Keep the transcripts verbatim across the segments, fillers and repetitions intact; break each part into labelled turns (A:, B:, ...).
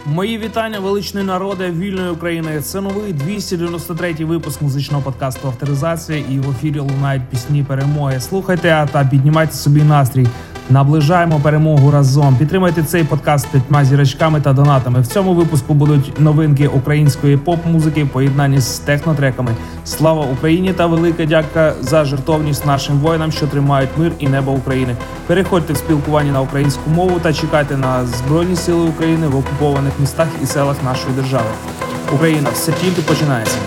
A: Мої вітання, величний народе вільної України. Це новий двісті дев'яносто третій випуск музичного подкасту «Авторизація», і в ефірі лунають пісні перемоги. Слухайте та піднімайте собі настрій. Наближаємо перемогу разом. Підтримайте цей подкаст п'ятьма зірочками та донатами. В цьому випуску будуть новинки української поп-музики в поєднанні з технотреками. Слава Україні та велика дяка за жертовність нашим воїнам, що тримають мир і небо України. Переходьте в спілкування на українську мову та чекайте на Збройні Сили України в окупованих містах і селах нашої держави. Україна, все тільки починається.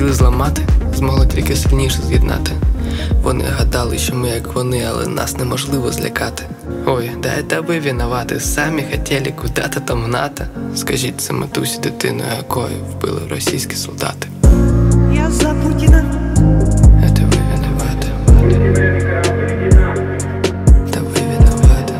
B: хотіли зламати, змогли тільки сильніше з'єднати. Вони гадали, що ми як вони, але нас неможливо злякати. Ой, да это ви винувати, самі хотіли куди-то там гнати. Скажіть це матусі, дитину якої вбили російські солдати.
C: Я за Путіна.
B: Это ви винувати. Та ви винувати.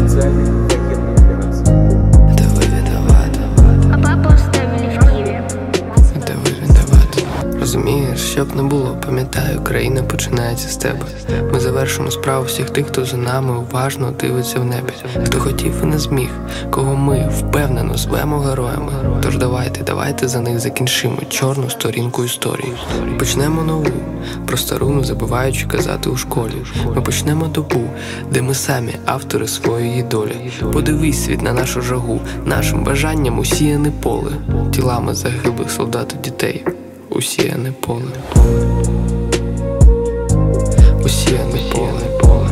B: Та ви винувати.
D: А папу оставили в Киеве.
B: Та ви винувати. Розумієш, щоб не було, пам'ятаю, країна починається з тебе. Ми завершимо справу всіх тих, хто за нами уважно дивиться в небі. Хто хотів і не зміг, кого ми впевнено звемо героями. Тож давайте, давайте за них закінчимо чорну сторінку історії. Почнемо нову, про стару не забуваючи казати у школі. Ми почнемо добу, де ми самі автори своєї долі. Подивись світ на нашу жагу, нашим бажанням усіяне поле. Тілами загиблих солдат і дітей усіяне поле. Усіяне поле.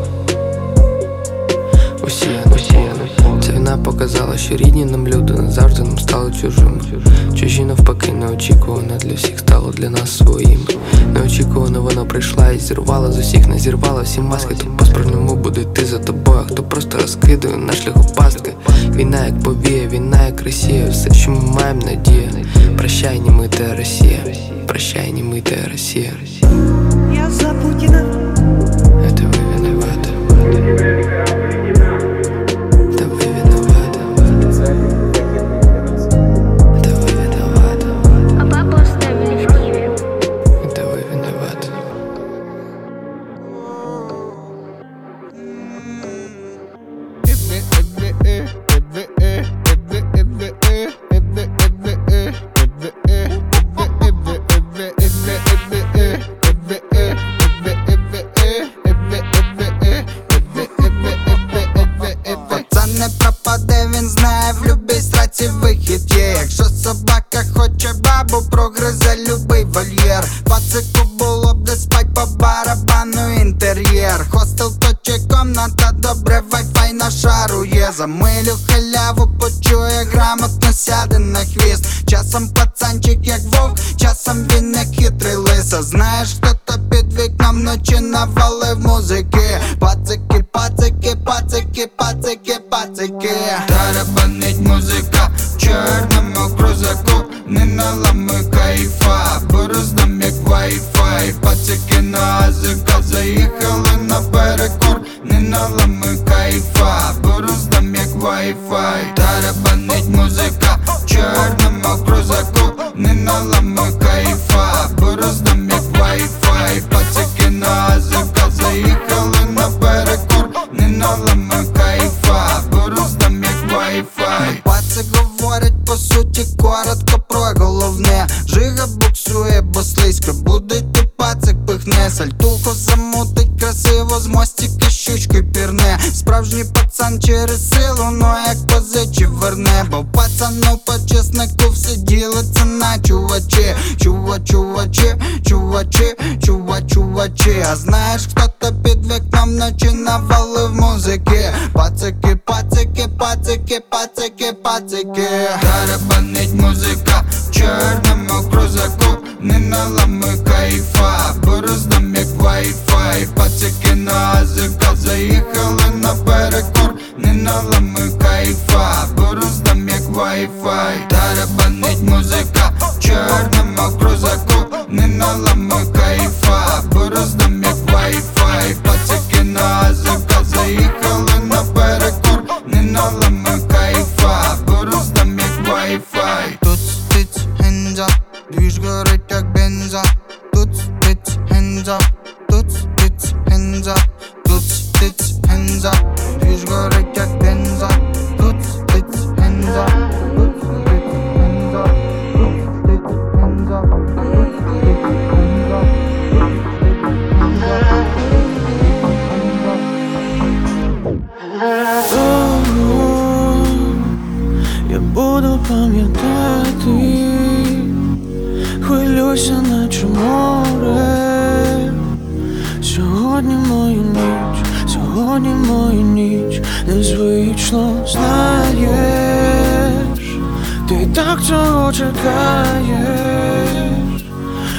B: Усіяне поле. Ця війна показала, що рідні нам люди назавжди нам стали чужими. Чужі навпаки неочікувано для всіх стало для нас своїм. Неочікувано вона прийшла і зірвала з усіх, не зірвала всі маски. Хто по-справжньому буде йти за тобою, хто просто розкидує на шляху пастки. Війна як повія, війна як Росія, все, що ми маємо надія. Прощай, німита Росія, прощай, німита Росія.
C: Я за Путіна.
B: Это ви винувати. Та ви винувати. Та ви винувати.
D: А папу оставили в Киеве.
B: Та ви винувати.
E: Пацан не пропаде, він знає, в любій сраці вихід є. Якщо собака хоче бабу, прогризе любий вольєр. Пацику було б де спать, по барабану інтер'єр. Хостел то чи комната, добре, вайфай на шару є. За милю халяву почує, грамотно сяде на хвіст. Часом пацанчик як вовк, часом він не хитрий лиса. Знаєш, хто-то під вікном вночі навалив музики. Пацики, пацики, пацики, пацики, пацики. Тарабанить музика в чорному крузаку. Не наламуй кайфа, бороздам як вай-фай. Пацики на азика заїхали на перекур. Не наламуй кайфа, бороздам як вай-фай. Тарабанить музика в чорному крузаку. Не наламуй кайфа, бороздам як вай-фай. Пацики на азика заїхали на перекур. Не наламуй кайфа, бороздам як вай-фай. Пацик говорить по суті коротко про головне. Жига буксує, бо слизько буде йти пацик пихне. Сальтуху замутить красиво, з мостика щучкою пірне. Справжній пацан через силу, но як позичив верне. Бо пацану по чеснику все ділиться на чувачі. Чува, чувачі, чувачі, чува, чувачі. А знаєш, хто-то під вікном вночі навалив музики. Пацики, пацики, пацики, пацики, пацики. Тарабанить музика в чорному крузаку. Не наламуй кайфа, бороздам як вай-фай. Пацики на азика заїхали на перекур. Не наламуй кайфа, бороздам як вай-фай. Тарабанить музика в чорному крузаку. Не наламуй кайфа, бороздам як вай-фай. Пацики на азика заїхали на перекур. Не наламуй кайфа, бороздам як вай-фай. Тут стиць, hands up, двіж горить як бенза. Тут стиць, hands up, тут стиць, hands up. Тут стиць, hands up, двіж горить як бенза. Тут стиць, hands up, тут стиць, hands up. Тут стиць, hands up, тут стиць, hands up.
F: Я буду пам'ятати, хвилюйся, наче море. Сьогодні моя ніч, сьогодні моя ніч. Незвично знаєш, ти так цього чекаєш.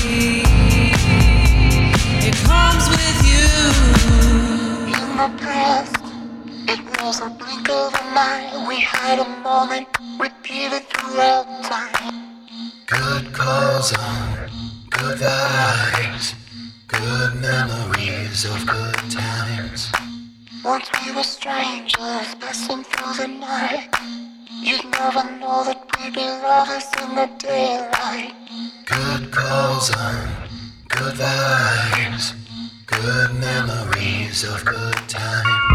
G: me. It comes with you.
H: In the past, it was a blink of an eye. We had a moment repeated throughout time. Good calls on good vibes, good memories of good times. Once we were strangers passing through the night. You'd never know that we'd be lovers in the daylight. Good calls on good vibes, good memories of good times.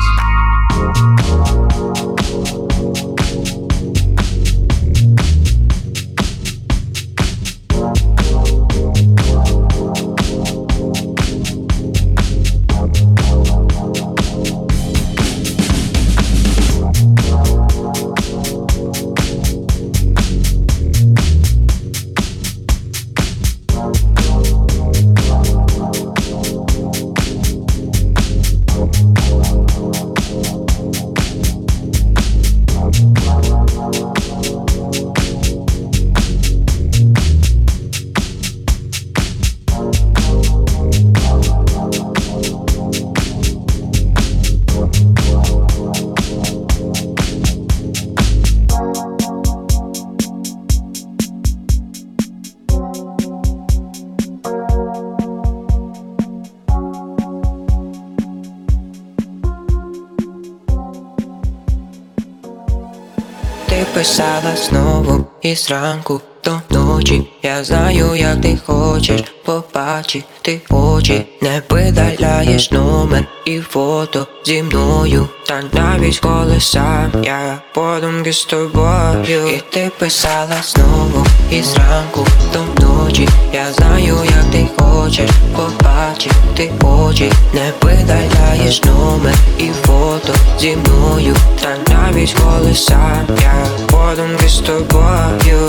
I: Ти писала знову і зранку до ночі. Я знаю, як ти хочеш побачити очі. Не видаляєш номер і фото зі мною. Та навіть коли сам я подумки з тобою. І ти писала знову і зранку до ночі. Я знаю, як ти хочеш побачити очі. Не видаляєш номер і фото зі мною. Та навіть коли сам я подумки з тобою.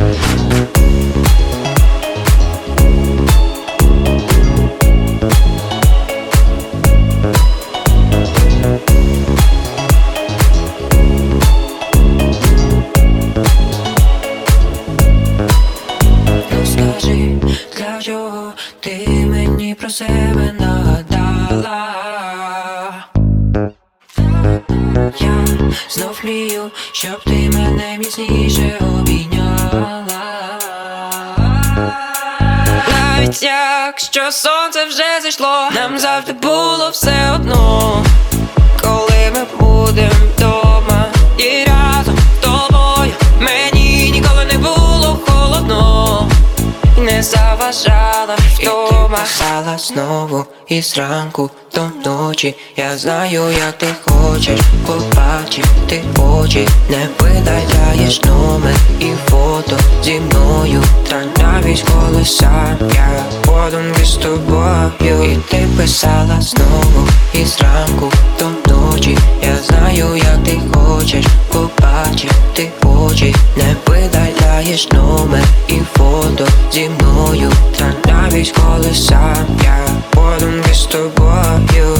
I: Ну скажи, для чого ти мені про себе нагадала? Я знов мрію, щоб ти мене міцніше обійняла. Навіть якщо сонце вже зайшло, нам завжди було все одно. Коли ми будем вдома і разом з тобою, мені ніколи не було холодно. І не заважала вдома. І ти писала знову і зранку до ночі. Я знаю, як ти хочеш побачити очі. Не видаляєш номер і фото зі мною. Та навіть коли сам я подумки з тобою. І ти писала знову і зранку до ночі. Я знаю, як ти хочеш побачити очі. Не видаляєш номер і фото зі мною. Та навіть коли сам я подумки з тобою.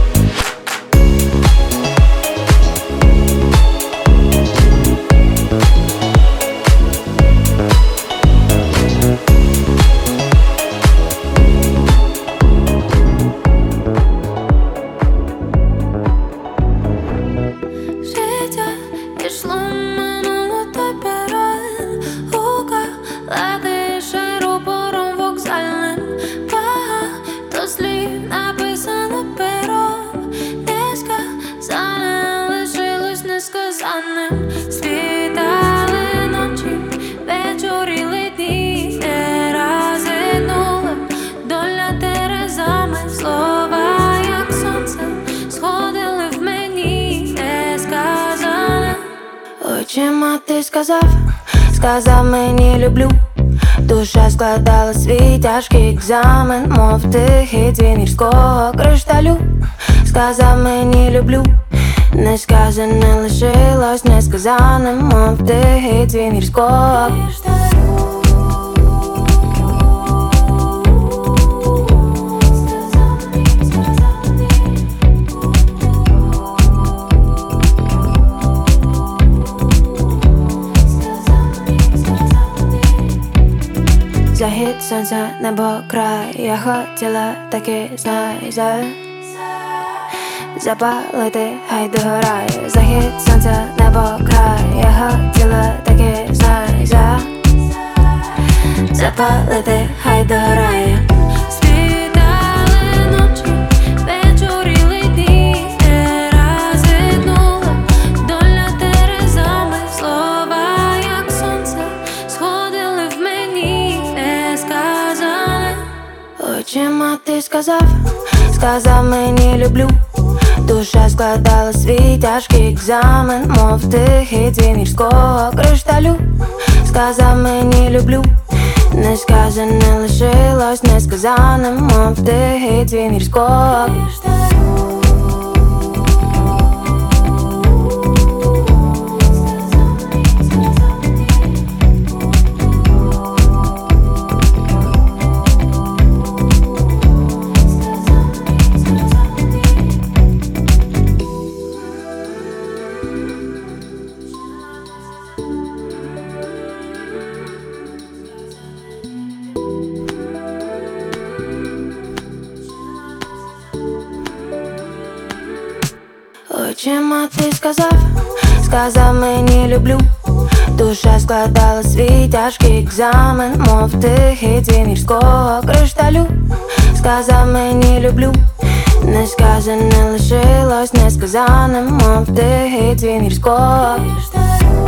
J: Життя пішло минуло тепер. Гука летише рупором вокзальним. Багато слів написано пером. Несказане лишилось несказаним. Світали ночі, вечоріли дні. Не розгинула доля терезами. Слова, як сонце, сходили в мені. Несказане очима ти сказав, сказав мені люблю. Душа складала свій тяжкий екзамен, мов тихий дзвін гірського кришталю. Сказав мені люблю, несказане лишилось несказаним, мов тихий дзвін гірського кришталю. Захід сонця, небо, край. Я хотіла таки, знай, за запалити, хай догорає. Захід сонця, небо, край. Я хотіла таки, знай, за запалити, хай догорає. Світали ночі, вечоріли дні, не розгинула доля терезами. Слова, як сонце, сходили в мені, не сказане. Очима ти сказав, сказав мені люблю. Душа складала свій тяжкий екзамен, мов тихий дзвін гірського кришталю. Сказав мені люблю, несказане лишилось несказаним, мов тихий дзвін гірського кришталю. Очима ти сказав, сказав мені люблю. Душа складала свій тяжкий екзамен, мов тихий дзвін гірського кришталю. Сказав мені люблю, несказане лишилось несказаним, мов тихий дзвін гірського кришталю.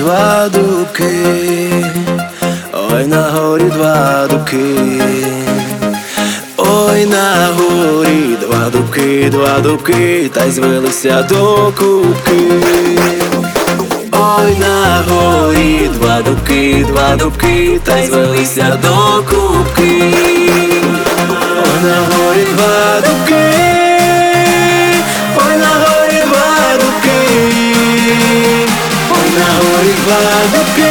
F: два дубки, ой, на горі два дубки, ой, на горі два дубки, два дубки, та й звелися до кубки. Ой, на горі два дубки, два дубки, та й звелися до кубки. Ой, на горі два дубки, ой, на горі два дубки, ой, на горі два дубки,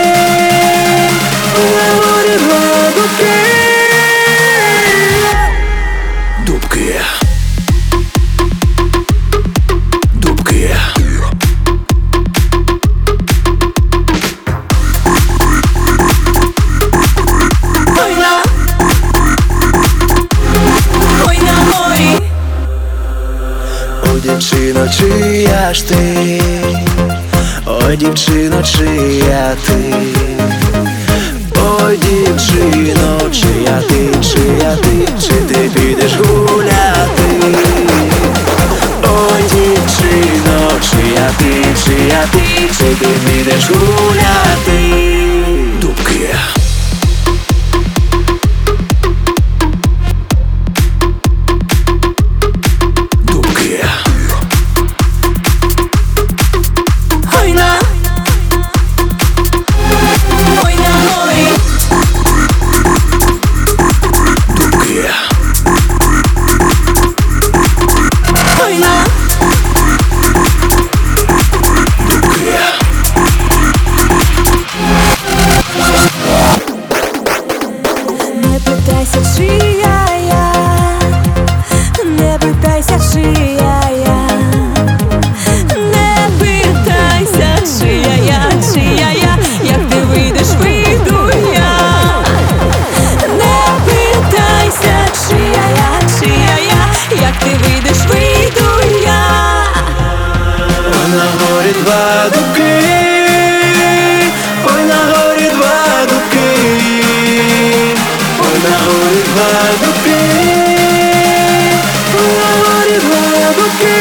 F: ой, на горі два дубки. Дубки. Дубки. Ой, на, ой, на горі. Ой, дівчино, чия ж ти? Ой, дівчино, чия ти? Ой, дівчино, чия ти, чия ти, чи ти підеш гуляти? Ой, дівчино, чия ти, чия ти, чи ти підеш гуляти? Дубки. Дубки. Ой, на, ой, на горі. Дубки. Ой, на, дубки.
J: Не питайся, чия я, не питайся, чия я, не питайся, чия я, чия я, як ти вийдеш, вийду я. Не питайся, чия я, чия я, як ти вийдеш, вийду я.
F: Ой, на горі два дубки, ой, на горі два дубки, ой, на горі два дубки, ой, на горі два дубки.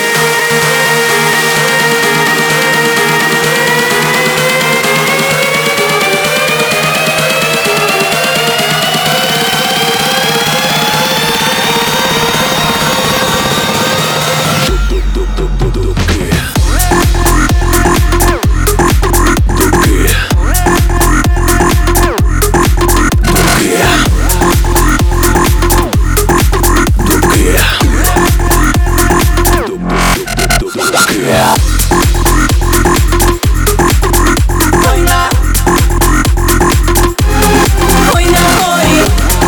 J: Ой, на, ой, на горі.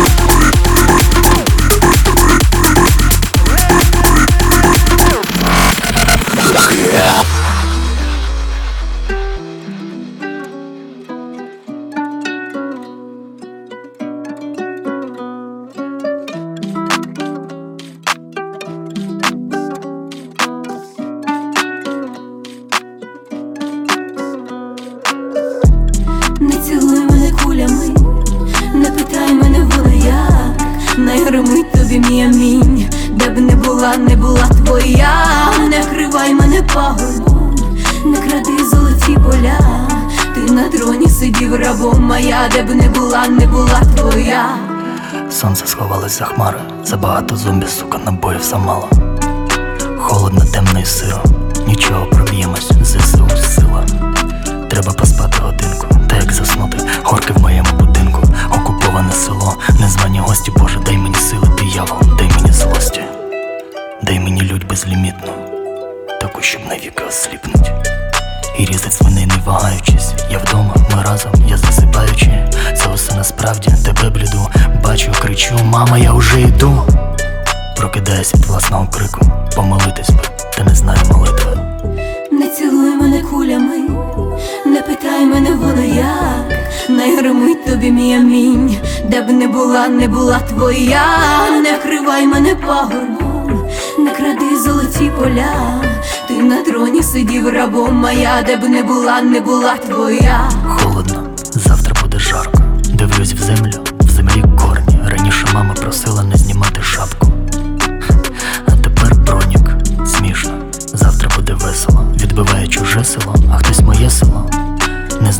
J: Не цілуй мене кулями, не питай мене воно як, не гримить тобі мій амінь, де б не була, не була твоя. Не кривай мене пагорбом, не кради золоті поля, ти на троні сидів рабом моя, де б не була, не була твоя.
K: Сонце сховалось за хмари, забагато зомбі, сука, набоїв замало. Холодно, темно і сиро, нічого, проб'ємось, ЗСУ сила. Треба поспати годинку, та як заснути, горки в моєму будинку. Окуповане село, незвані гості, Боже, дай мені сили, диявол, дай мені злості. Дай мені лють безлімітну, таку, щоб навіки осліпнуть. І різать свиней, не вагаючись. Я вдома, ми разом, я засипаючи. Це усе насправді, тебе бліду. Бачу, кричу, мама, я уже йду. Прокидаюсь від власного крику, помолитись би, та не знаю молитви.
J: Не цілуй мене кулями, не питай мене воно як, не гримить тобі мій амінь, де б не була, не була твоя. Не кривай мене пагорбом, не кради золоті поля, ти на троні сидів рабом моя, де б не була, не була твоя.
K: Холодно, завтра буде жарко. Дивлюсь в землю, в землі корні. Раніше мама просила не знімати шапку, а тепер бронік. Смішно, завтра буде весело. Відбиває чуже село, а хтось моє село.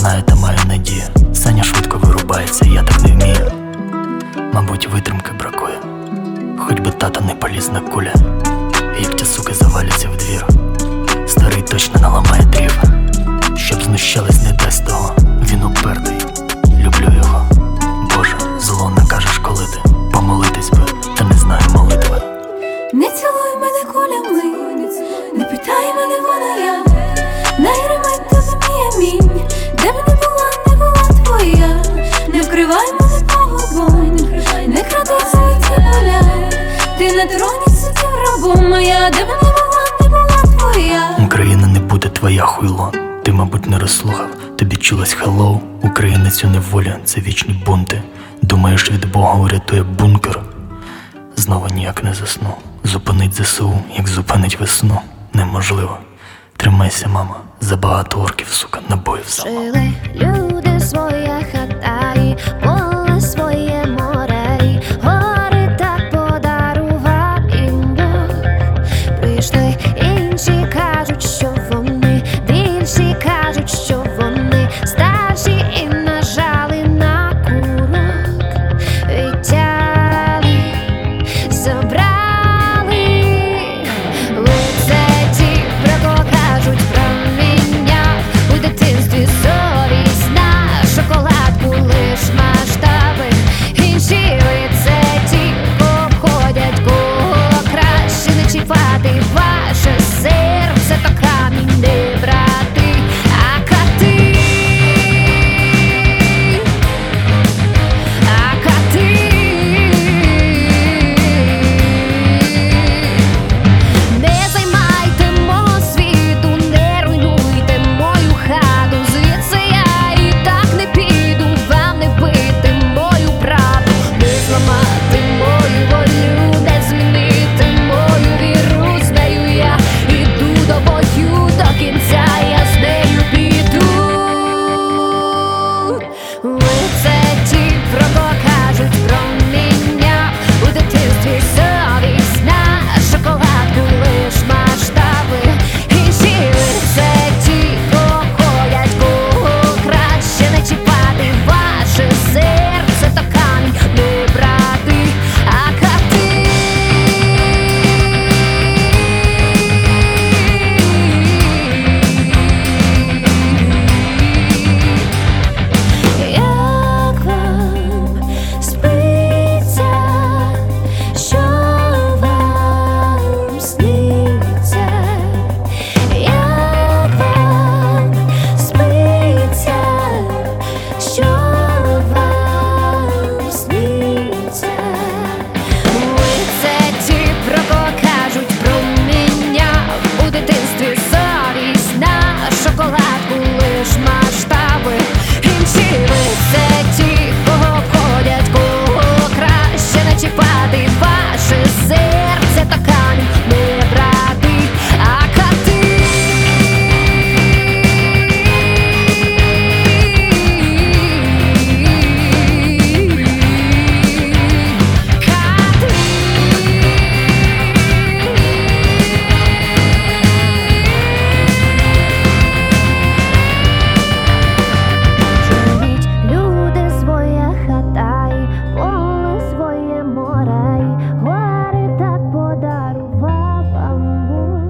K: знаю та маю надію. Саня швидко вирубається, я так не вмію. Мабуть, витримки бракує, хоч би тата не поліз на куля. Як ті суки заваляться в двір, старий точно наламає дрів. Щоб знущались, не дасть того, він упертий, люблю його. Боже, зло накажеш, коли ти помолитись би, та не знаю молитви.
J: Не цілуй мене кулями, не питай мене, вона я. Найримай тобі мій амінь, де б не була, не була твоя. Не вкривай мене погубом, не кради світі поля. Ти на троні сидів рабом моя, де б не була, не була твоя.
K: Україна не буде твоя, хуйло. Ти, мабуть, не розслухав, тобі чулось хеллоу. Українець у неволі, це вічні бунти. Думаєш, від Бога урятує бункер? Знову ніяк не засну. Зупинить ЗСУ, як зупинить весну, неможливо. Тримайся, мама, забагато орків, сука, набоїв сама.
J: Жили люди своє хата і поле своє море, і гори так подарував їм Бог. Прийшли інші, кажуть, що вони більші, кажуть, що вони старші, і нажали на курок, відтяли, забрали. Лице ті, про кого кажуть, проміняв у дитинстві совість на шоколадку лиш масштаби. Інші лице ті, обходять, кого краще не чіпати. Ваше серце то камінь, не брати, а кати, а кати. Не займайте мого світу, не руйнуйте мою хату. Звідси я і так не піду, вам не бити мою правду, не зламати мою волю, не змінити мою віру. З нею я іду до бою, до кінця я з нею піду. Лице ті, про кого кажуть, проміняв у дитинстві совість на шоколадку лиш масштаби. Інші лице ті, обходять, кого краще не чіпати. Ваше серце то камінь, не брати, а кати. Як вам спиться, що вам сниться? Як вам спиться, що вам сниться? Лице ті, про кого кажуть, проміняв у дитинстві совість на шоколадку лиш масштаби. Інші лице ті, кого обходять, кого краще не чіпати. Ваше серце то камінь, не брати, а кати. Живіть, люди, своя хата і поле своє море, і гори так подарував вам Бог.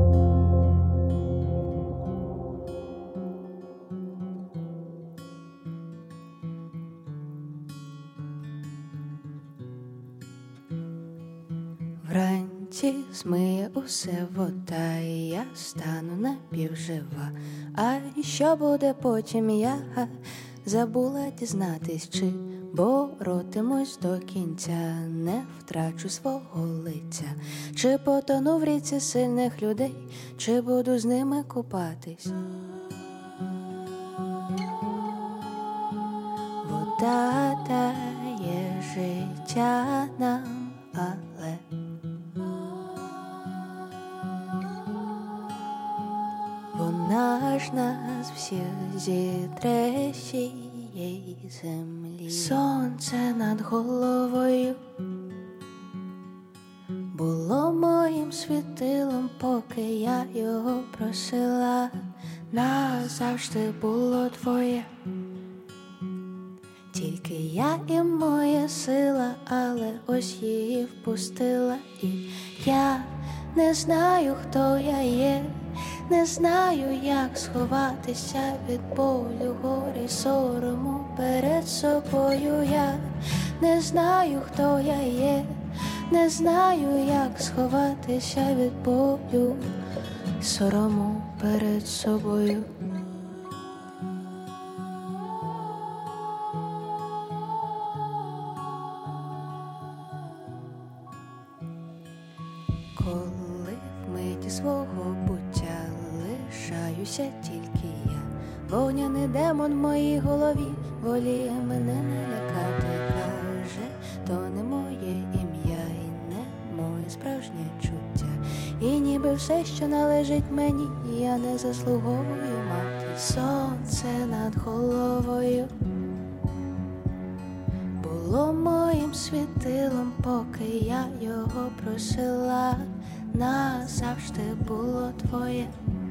J: Вранці змиє усе вода, і я стану напівжива. А що буде потім, я забула дізнатись, чи боротимусь до кінця, не втрачу свого лиця, чи потону в ріці сильних людей, чи буду з ними купатись. Вода дає життя нам, але вона ж нас всіх зітре з цієї землі. Сонце над головою було моїм світилом, поки я його просила. Назавжди було твоє, є. Тільки я і моя сила, але ось її впустила. І я не знаю, хто я є, не знаю, як сховатися від болю, горі, сорому перед собою. Я не знаю, хто я є, не знаю, як сховатися від болю, сорому перед собою. Коли в миті свого буття лишаюся тільки я, вогняний демон в моїй голові воліє мене не лякати. Каже, то не моє ім'я і не моє справжнє чуття. І ніби все, що належить мені, я не заслуговую мати. Сонце над головою було моїм світилом, поки я його просила. Назавжди було твоє.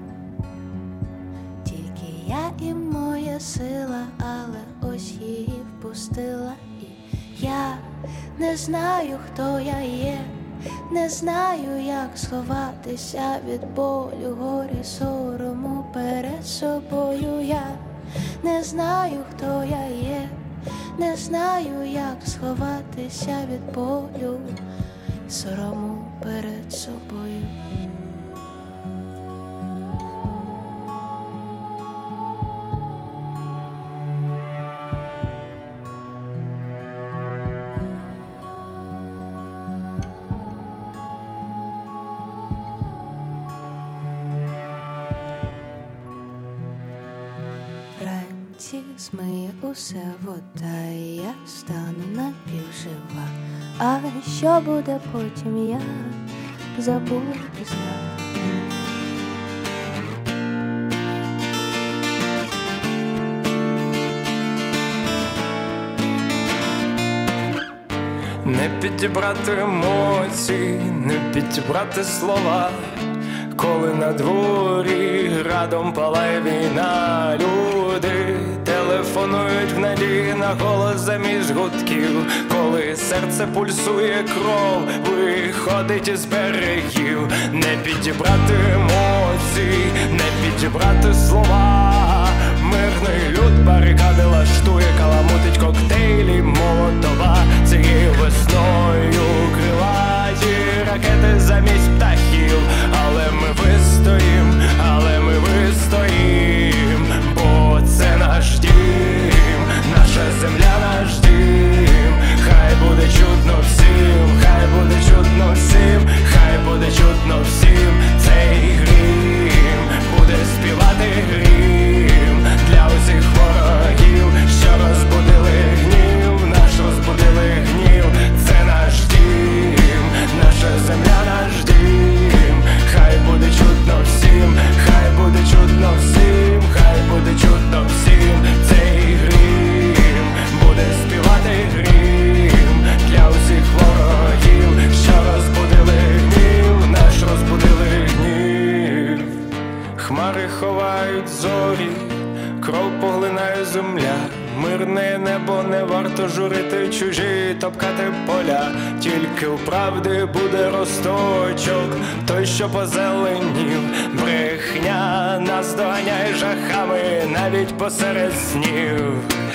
J: Тільки я і моя сила, але ось її впустила. І я не знаю, хто я є, не знаю, як сховатися від болю, горі, сорому перед собою. Я не знаю, хто я є, не знаю, як сховатися від болю, сорому перед собою. Вранці змиє усе вода, і я стану напівжива. А що буде потім, я забуду знати.
F: Не підібрати емоції, не підібрати слова, коли на дворі градом палає війна. Люди телефонують в надії на голос замість гудків, коли серце пульсує, кров виходить із берегів. Не підібрати емоції, не підібрати слова, мирний люд барикади лаштує, каламутить коктейлі Молотова. Цією весною крилаті ракети замість птахів, але ми вистоїм, але ми вистоїм, бо це наш дім, наша земля, наш дім. Хай буде чутно всім, хай буде чутно всім, хай буде чутно всім. Цей грім буде співати грім для усіх ворогів, що розбудили гнів, наш розбудили гнів. Це наш дім, наша земля, наш дім. Хай буде чутно всім, хай буде чутно всім, хай буде чутно всім. Цей грім буде співати грім для усіх ворогів, що розбудили гнів, наш розбудили гнів. Хмари ховають зорі, кров поглинає земля. Мирне небо, не варто журити чужі, топкати поля. Тільки у правди буде росточок, той, що позеленів. Брехня нас доганяє жахами навіть посеред снів.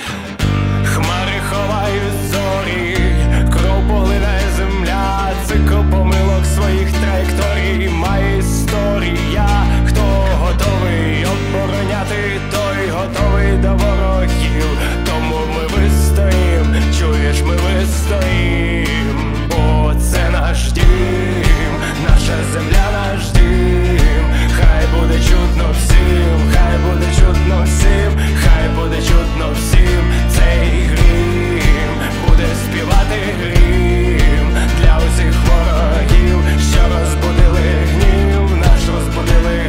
F: Хмари ховають зорі, кров поглинає земля. Цикл помилок своїх траєкторій має історія. Хто готовий обороняти, той готовий до ворогів. Тому ми вистоїм, чуєш, ми вистоїм, бо це наш дім, наша земля, наш дім. Хай буде чутно всім, хай буде чутно всім, хай буде чутно всім. Цей грім буде співати грім для усіх ворогів, що розбудили гнів, наш розбудили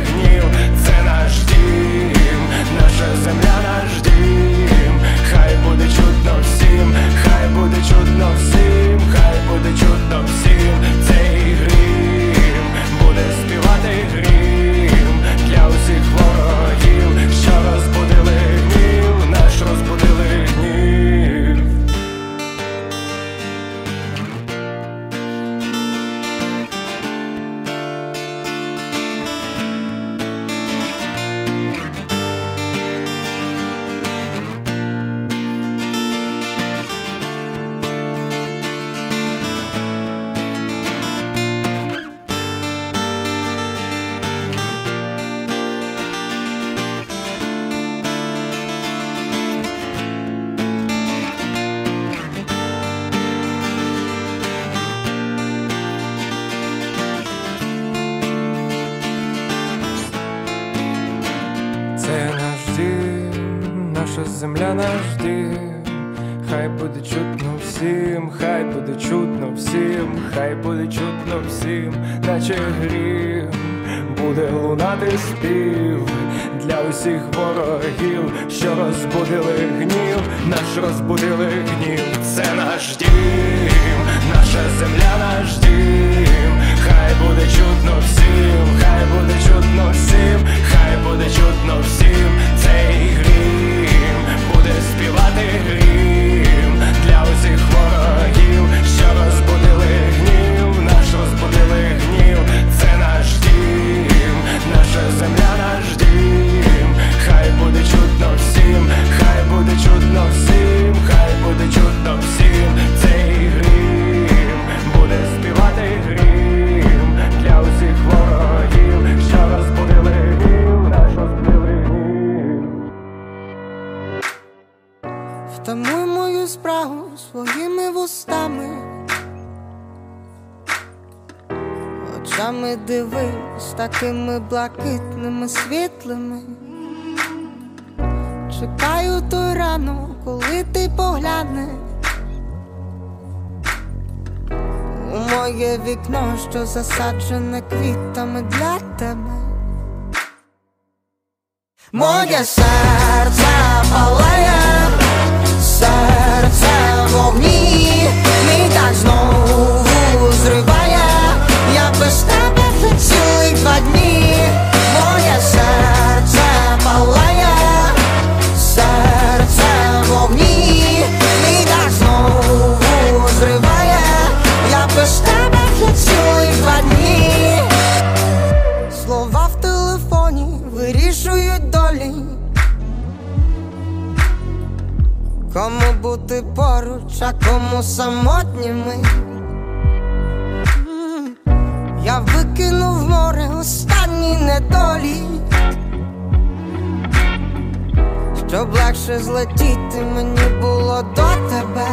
L: земля наш дім. Хай буде чутно всім, хай буде чутно всім, хай буде чутно всім, наче грім буде лунати спів для усіх ворогів, що розбудили гнів, наш розбудили гнів. Це наш дім, наша земля наш дім. Хай буде чутно всім, хай буде чутно всім, хай буде чутно всім. Цей грім буде співати грім для усіх ворогів, що розбудили гнів, наш розбудили гнів. Це наш дім, наша земля наш дім. Хай буде чутно всім, хай буде чутно всім, хай буде чутно всім. Цей грім буде співати грім для усіх ворогів, що розбудили гнів, наш розбудили гнів.
E: Втамуй мою спрагу своїми вустами, очами дивись, такими блакитними, світлими. Чекаю той ранок, коли ти поглянеш у моє вікно, що засаджене квітами для тебе. Моє серце палає, серце в вогні, мій так знову зриває. Я без тебе вже цілих два дні. Моє серце палає, серце в вогні, мій так знову зриває. Я без тебе вже цілих два дні. Слова в телефоні вирішують долі, кому бути поруч, а кому самотніми. Я викинув в море останні недолі, щоб легше злетіти мені було до тебе.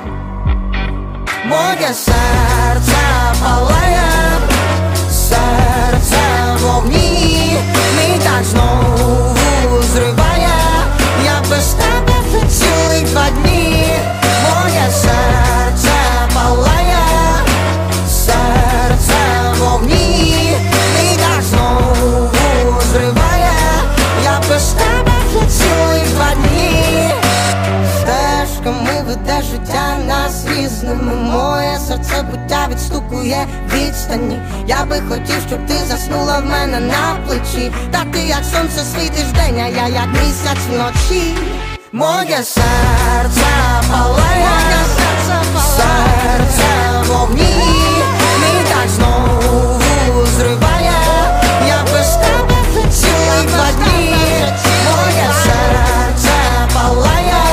E: Моє серце палає, серце в вогні, мій так знову зриває. Я без тебе вже цілих два дні. Моє серце палає, серце в вогні, мій так знову зриває. Я без тебе вже цілих два дні. Стежками веде життя нас різними. Моє серце буття відстукує відстані. Я би хотів, щоб ти заснула в мене на плечі. Та ти як сонце світиш вдень, а я як місяць вночі. Моє серце палає, моє серце палає, серце в вогні, мій так знову зриває. Я без тебе вже цілих два дні. Моє серце палає,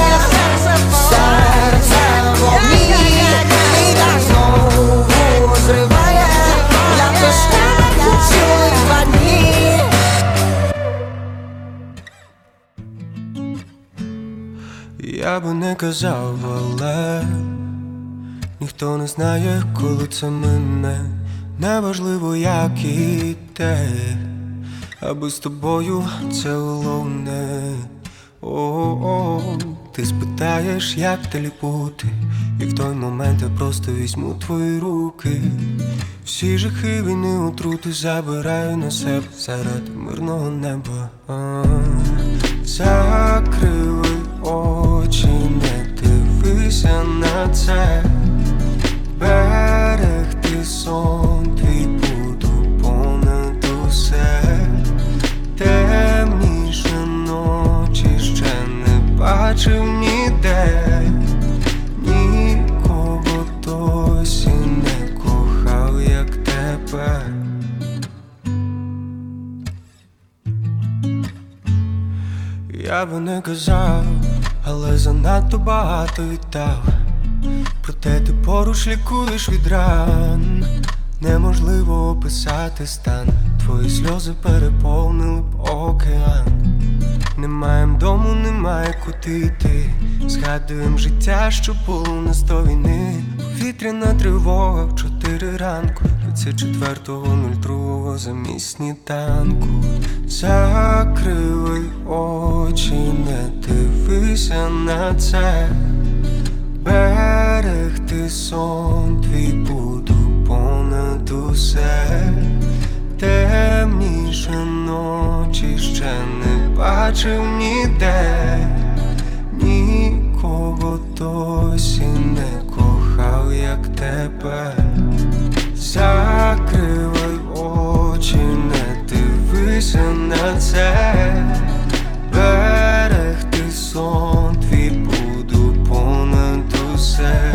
E: серце в вогні, мій так знову зриває. Я без тебе вже цілих два дні.
L: Я би не казав, але ніхто не знає, коли це мине. Неважливо, як і те, аби з тобою це головне. О-о-о, ти спитаєш, як далі бути, і в той момент я просто візьму твої руки. Всі жахи війни, отрути забираю на себе заради мирного неба. А-а-а. Закрили очі, не дивися на це. Берегти сон твій буду понад усе. Темніше ночі ще не бачив ніде. Нікого досі не кохав, як тебе. Я би не казав, але занадто багато віддав. Проте ти поруч лікуєш від ран. Неможливо описати стан. Твої сльози переповнили б океан. Не маєм дому, немає куди йти. Згадуєм життя, що було на сто війни. Повітряна тривога в чотири ранку двадцять четвертого нуль другого замість сніданку. Закривай очі, не дивися на це. Берегти сон твій буду понад усе. Темніше ночі ще не бачив ніде. Нікого досі не кохав, як тебе. Закривай очі, не дивися на це. Берегти сон твій буду понад усе.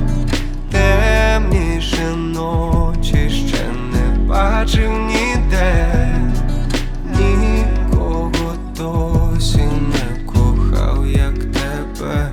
L: Темніше ночі ще не бачив ніде. Нікого досі не кохав, як тебе.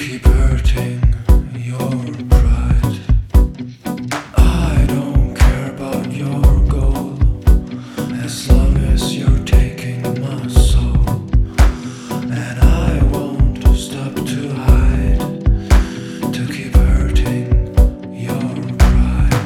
F: keep hurting your pride. I don't care about your goal as long as you're taking my soul, and I won't stop to hide to keep hurting your pride.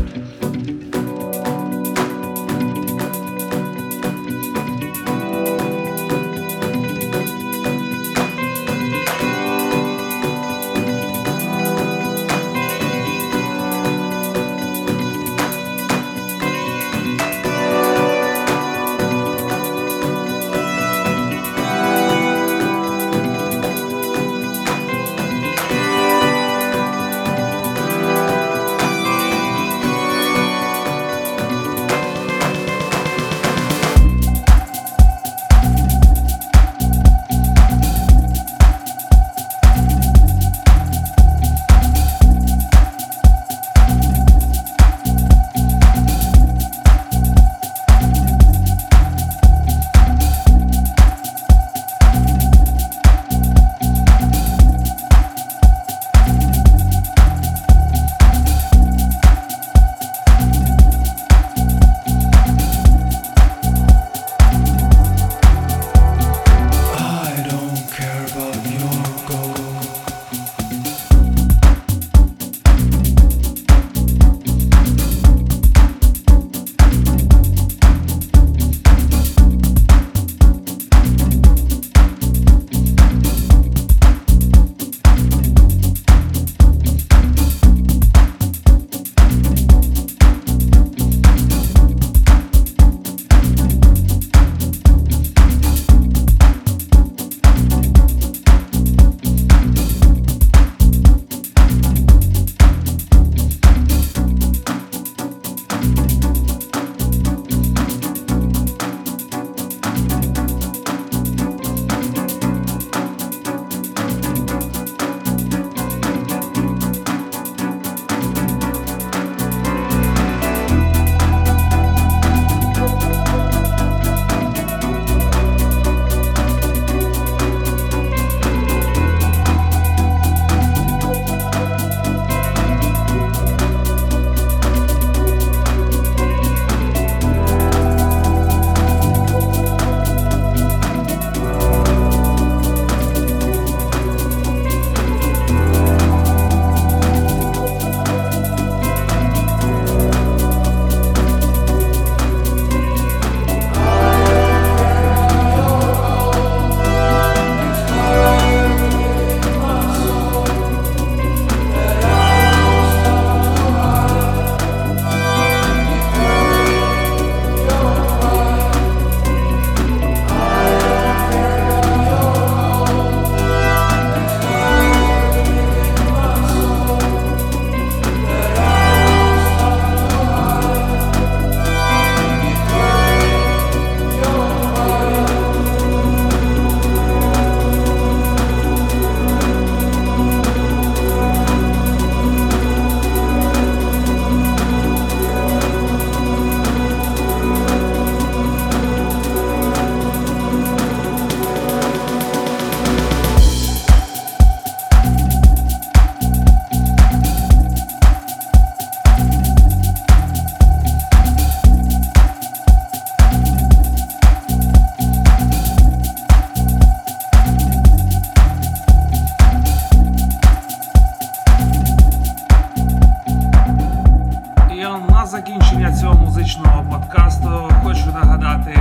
A: закінчення цього музичного подкасту хочу нагадати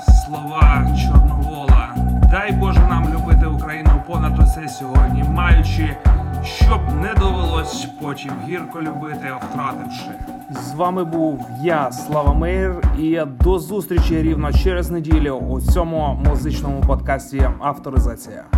A: слова Чорновола. Дай Боже нам любити Україну понад усе сьогодні, маючи, щоб не довелось потім гірко любити, втративши. З вами був я, Слава Мейер, і до зустрічі рівно через неділю у цьому музичному подкасті «Авторизація».